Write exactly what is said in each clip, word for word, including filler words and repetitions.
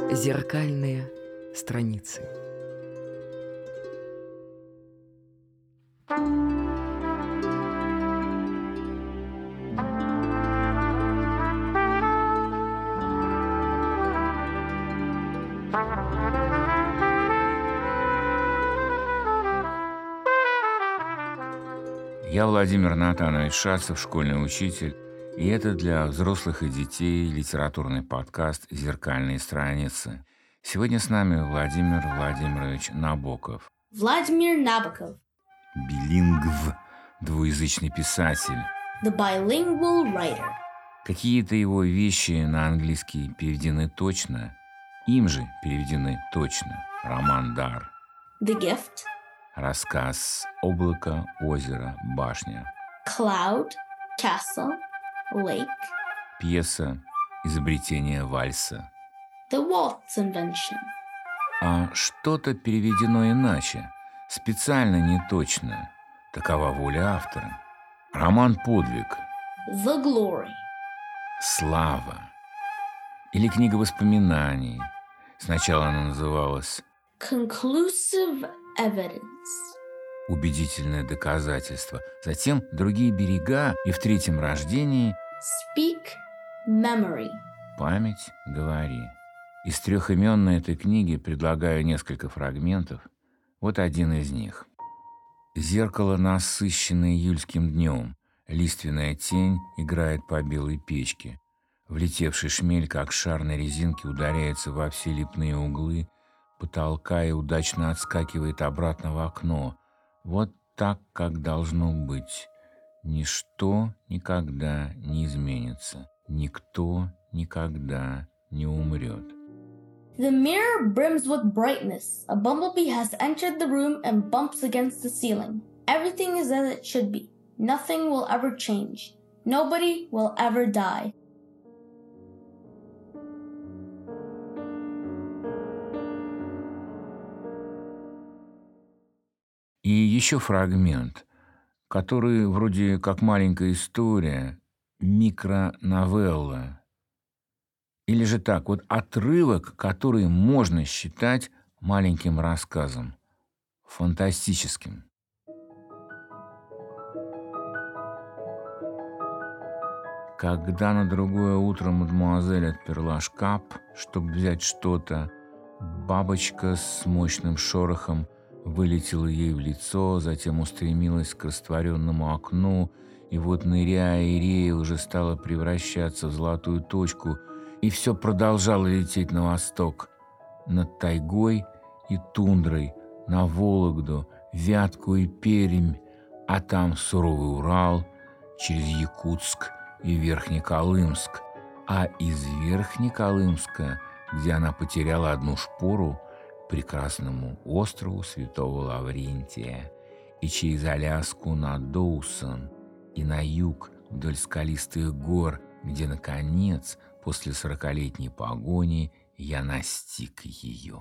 Зеркальные страницы. Я Владимир Натанович Шацев, школьный учитель, и это для взрослых и детей литературный подкаст «Зеркальные страницы». Сегодня с нами Владимир Владимирович Набоков. Vladimir Nabokov. Билингв, двуязычный писатель. The bilingual writer. Какие-то его вещи на английский переведены точно, им же переведены точно. Роман «Дар». The gift. Рассказ «Облако, озеро, башня». Cloud, castle, lake. Пьеса «Изобретение вальса». The waltz invention. А что-то переведено иначе, специально не точно. Такова воля автора. Роман «Подвиг». The glory. Слава. Или книга воспоминаний. Сначала она называлась Conclusive evidence. «Убедительное доказательство». Затем «Другие берега» и в третьем рождении Speak memory. «Память, говори». Из трех имен на этой книге предлагаю несколько фрагментов. Вот один из них. Зеркало, насыщенное июльским днем. Лиственная тень играет по белой печке. Влетевший шмель, как шар на резинке, ударяется во все лепные углы потолка и удачно отскакивает обратно в окно. Вот так, как должно быть. Ничто никогда не изменится. Никто никогда не умрет. The mirror brims with brightness. A bumblebee has entered the room and bumps against the ceiling. Everything is as it should be. Nothing will ever change. Nobody will ever die. И еще фрагмент, который вроде как маленькая история, микроновелла. Или же так, вот отрывок, который можно считать маленьким рассказом, фантастическим. Когда на другое утро мадемуазель отперла шкаф, чтобы взять что-то, бабочка с мощным шорохом вылетела ей в лицо, затем устремилась к растворенному окну, и вот, ныряя и рея, уже стала превращаться в золотую точку, и все продолжало лететь на восток, над тайгой и тундрой, на Вологду, Вятку и Пермь, а там суровый Урал, через Якутск и Верхнеколымск, а из Верхнеколымска, где она потеряла одну шпору, прекрасному острову Святого Лаврентия, и через Аляску на Доусон, и на юг вдоль скалистых гор, где, наконец, после сорокалетней погони, я настиг ее.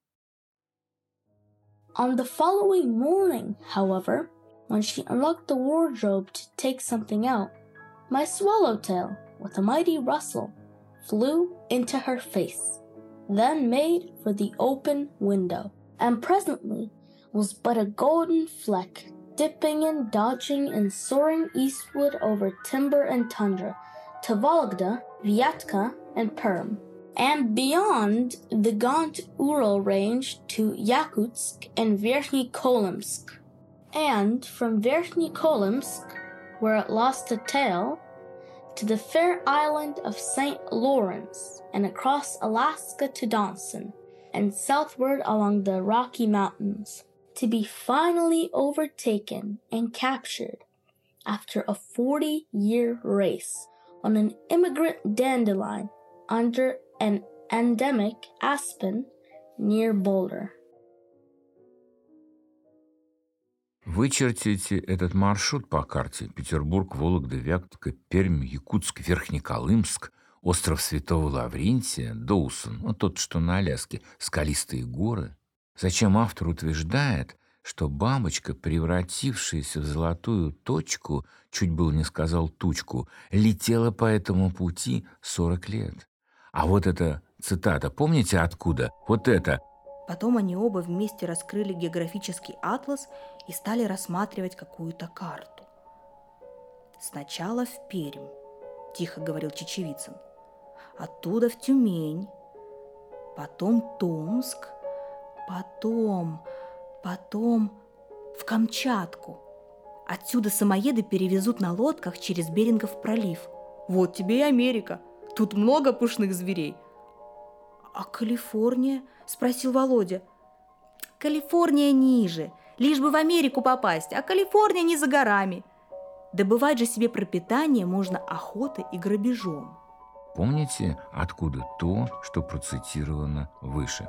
On the following morning, however, when she unlocked the wardrobe to take something out, my swallowtail, with a mighty rustle, flew into her face, then made for the open window, and presently was but a golden fleck, dipping and dodging and soaring eastward over timber and tundra, to Vologda, Vyatka, and Perm, and beyond the gaunt Ural range to Yakutsk and Verkhny Kolimsk, and from Verkhny Kolimsk, where it lost a tail, to the fair island of Saint Lawrence, and across Alaska to Dawson, and southward along the Rocky Mountains, to be finally overtaken and captured after a forty-year race on an immigrant dandelion under an endemic aspen near Boulder. Вычертите этот маршрут по карте: Петербург, Вологда, Вятка, Пермь, Якутск, Верхнеколымск, остров Святого Лаврентия, Доусон, ну, тот, что на Аляске, скалистые горы. Зачем автор утверждает, что бабочка, превратившаяся в золотую точку, чуть было не сказал тучку, летела по этому пути сорок лет, А вот эта цитата, помните откуда? Вот это. Потом они оба вместе раскрыли географический атлас и стали рассматривать какую-то карту. «Сначала в Пермь», – тихо говорил Чечевицын. «Оттуда в Тюмень, потом Томск, потом, потом в Камчатку. Отсюда самоеды перевезут на лодках через Берингов пролив. Вот тебе и Америка. Тут много пушных зверей». «А Калифорния?» – спросил Володя. «Калифорния ниже, лишь бы в Америку попасть, а Калифорния не за горами. Добывать же себе пропитание можно охотой и грабежом». Помните, откуда то, что процитировано выше?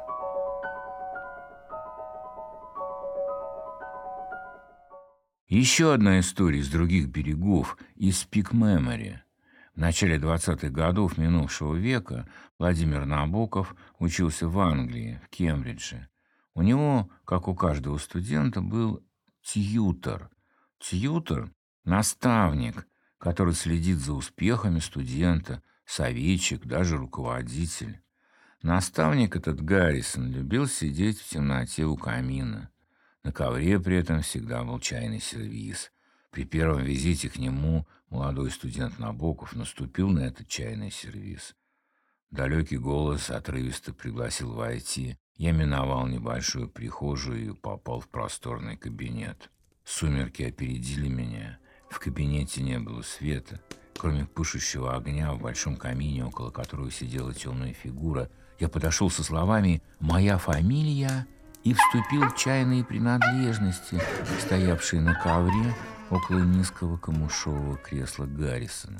Еще одна история из других берегов, из Peak Memory. В начале двадцатых годов минувшего века Владимир Набоков учился в Англии, в Кембридже. У него, как у каждого студента, был тьютор. Тьютор – наставник, который следит за успехами студента, советчик, даже руководитель. Наставник этот Гаррисон любил сидеть в темноте у камина. На ковре при этом всегда был чайный сервиз. При первом визите к нему молодой студент Набоков наступил на этот чайный сервиз. Далекий голос отрывисто пригласил войти. Я миновал небольшую прихожую и попал в просторный кабинет. Сумерки опередили меня. В кабинете не было света. Кроме пышущего огня в большом камине, около которого сидела темная фигура, я подошел со словами «Моя фамилия» и вступил в чайные принадлежности, стоявшие на ковре около низкого камышового кресла Гаррисона.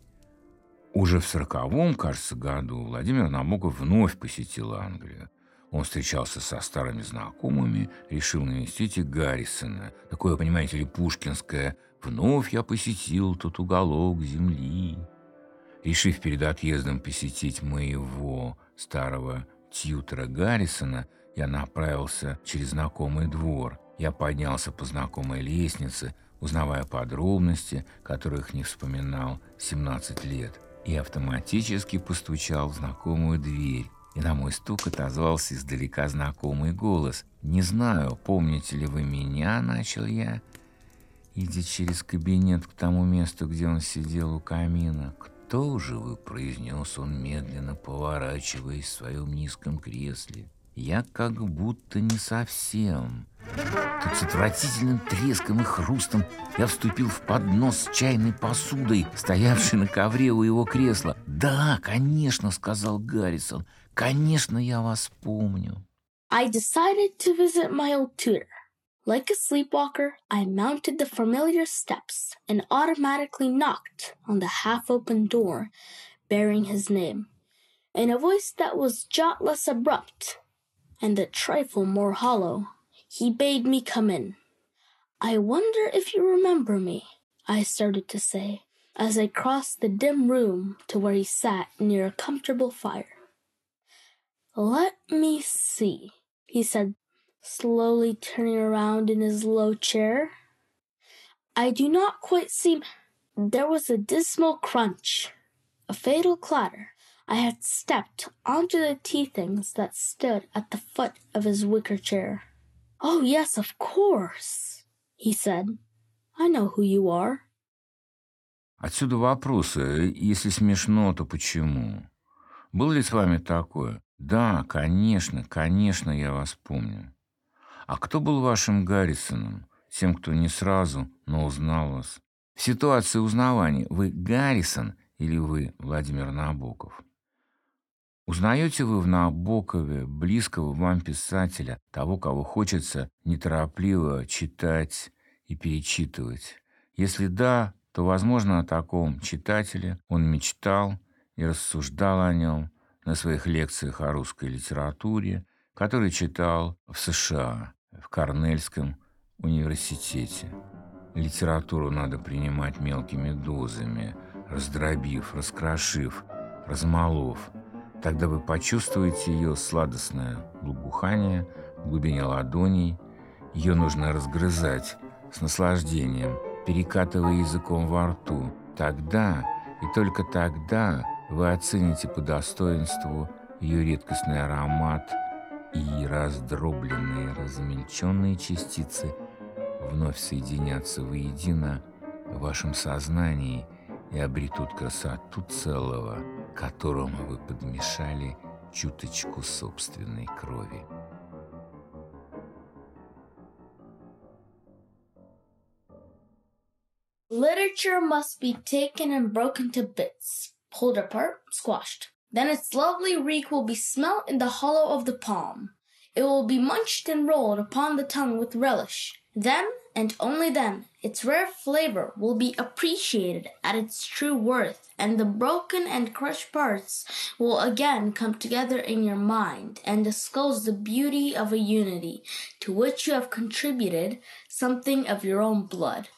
Уже в сороковом, кажется, году Владимир Набоков вновь посетил Англию. Он встречался со старыми знакомыми, решил навестить и Гаррисона. Такое, понимаете ли, пушкинское «Вновь я посетил тот уголок земли». Решив перед отъездом посетить моего старого тьютора Гаррисона, я направился через знакомый двор. Я поднялся по знакомой лестнице, узнавая подробности, которых не вспоминал семнадцать лет, и автоматически постучал в знакомую дверь. И на мой стук отозвался издалека знакомый голос. «Не знаю, помните ли вы меня?» – начал я, идя через кабинет к тому месту, где он сидел у камина. «Кто же вы?» – произнес он, медленно поворачиваясь в своем низком кресле. «Я как будто не совсем». Тут с отвратительным треском и хрустом я вступил в поднос с чайной посудой, стоявшей на ковре у его кресла. «Да, конечно», — сказал Гаррисон, — «конечно, я вас помню». I decided to visit my old tutor. Like a sleepwalker, I mounted the familiar steps and automatically knocked on the half-open door bearing his name. In a voice that was jot less abrupt and a trifle more hollow, he bade me come in. "I wonder if you remember me," I started to say, as I crossed the dim room to where he sat near a comfortable fire. "Let me see," he said, slowly turning around in his low chair. I do not quite seem... There was a dismal crunch, a fatal clatter. I had stepped onto the tea things that stood at the foot of his wicker chair. "Oh, yes, of course," he said. "I know who you are." Отсюда вопросы. Если смешно, то почему? Было ли с вами такое? Да, конечно, конечно, я вас помню. А кто был вашим Гаррисоном? Тем, кто не сразу, но узнал вас. В ситуации узнавания вы Гаррисон или вы Владимир Набоков? Узнаете вы в Набокове близкого вам писателя, того, кого хочется неторопливо читать и перечитывать? Если да, то, возможно, о таком читателе он мечтал и рассуждал о нем на своих лекциях о русской литературе, которые читал в США, в Корнельском университете. Литературу надо принимать мелкими дозами, раздробив, раскрошив, размолов. Тогда вы почувствуете ее сладостное благоухание в глубине ладоней. Ее нужно разгрызать с наслаждением, перекатывая языком во рту. Тогда и только тогда вы оцените по достоинству ее редкостный аромат, и раздробленные, размельченные частицы вновь соединятся воедино в вашем сознании и обретут красоту целого, которому вы подмешали чуточку собственной крови. Literature must be taken and broken to bits, pulled apart, squashed. Then its lovely reek will be smelt in the hollow of the palm. It will be munched and rolled upon the tongue with relish. Then, and only then, its rare flavor will be appreciated at its true worth, and the broken and crushed parts will again come together in your mind and disclose the beauty of a unity to which you have contributed something of your own blood.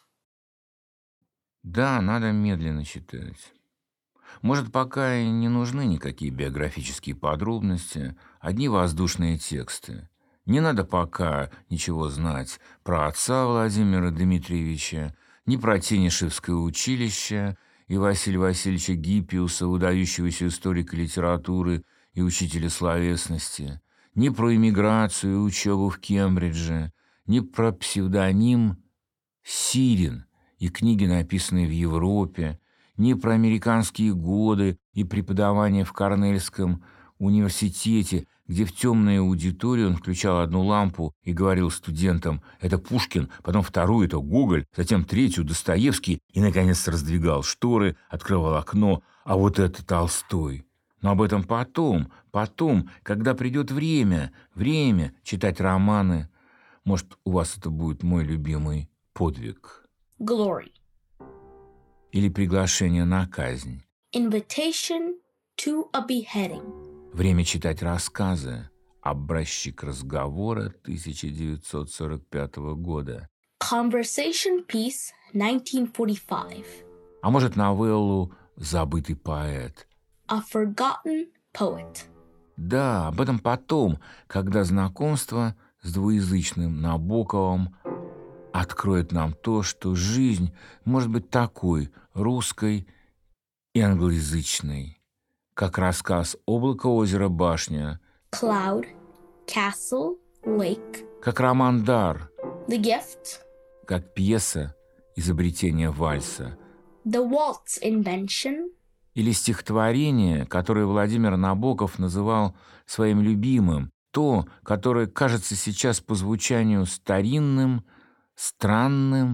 Да, надо медленно читать. Может, пока и не нужны никакие биографические подробности, одни воздушные тексты. Не надо пока ничего знать про отца Владимира Дмитриевича, ни про Тенишевское училище и Василия Васильевича Гиппиуса, выдающегося историка литературы и учителя словесности, ни про эмиграцию и учебу в Кембридже, ни про псевдоним Сирин и книги, написанные в Европе, ни про американские годы и преподавание в Корнельском университете, где в темной аудитории он включал одну лампу и говорил студентам: это Пушкин, потом вторую — это Гоголь, затем третью — Достоевский, и, наконец, раздвигал шторы, открывал окно, а вот это Толстой. Но об этом потом, потом, когда придет время, время читать романы. Может, у вас это будет мой любимый подвиг. Glory. Или приглашение на казнь. Invitation to a beheading. Время читать рассказы. Образчик разговора тысяча девятьсот сорок пятого года. Conversation piece nineteen forty-five. А может, новеллу «Забытый поэт». A forgotten poet. Да, об этом потом, когда знакомство с двуязычным Набоковым откроет нам то, что жизнь может быть такой, русской и англоязычной, как рассказ «Облако, озеро, башня», Cloud, castle, lake. как роман «Дар», The gift. как пьеса «Изобретение вальса», The waltz invention. или стихотворение, которое Владимир Набоков называл своим любимым, то, которое кажется сейчас по звучанию старинным, странным,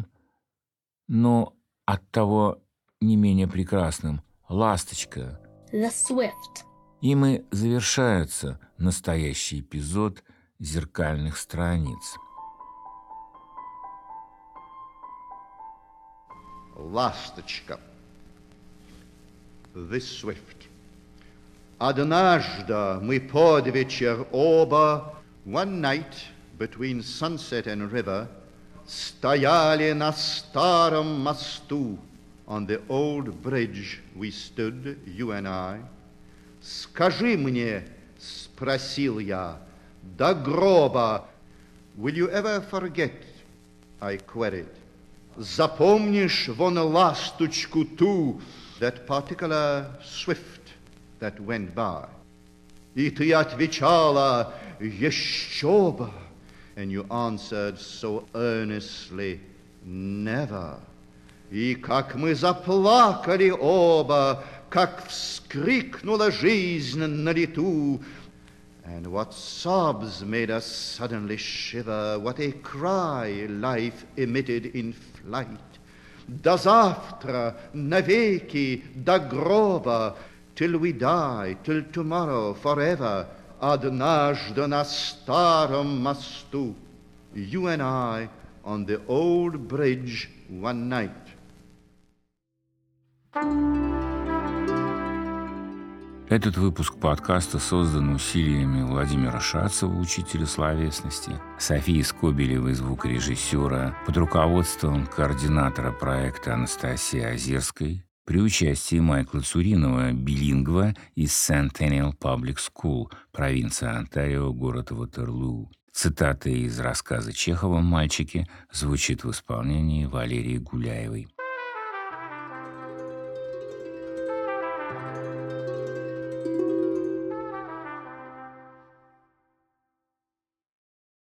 но оттого не менее прекрасным. «Ласточка». The swift. Им и завершается настоящий эпизод «Зеркальных страниц». Ласточка. The Swift. Однажды мы под вечер оба, one night between sunset and river, стояли на старом мосту. On the old bridge we stood, you and I. Скажи мне, спросил я, до гроба, will you ever forget? I queried. Запомнишь вон ласточку ту, that particular swift that went by? И ты отвечала, еще бы. And you answered so earnestly, never. И как мы заплакали оба, как вскрикнула жизнь на лету. And what sobs made us suddenly shiver, what a cry life emitted in flight. До завтра, навеки, до гроба, till we die, till tomorrow, forever, однажды на старом мосту, you and I on the old bridge one night. Этот выпуск подкаста создан усилиями Владимира Шацева, учителя словесности, Софии Скобелевой, звукорежиссера, под руководством координатора проекта Анастасии Озерской, при участии Майкла Цуринова, билингва из Centennial Public School, провинция Онтарио, город Ватерлуу. Цитата из рассказа Чехова «Мальчики» звучит в исполнении Валерии Гуляевой.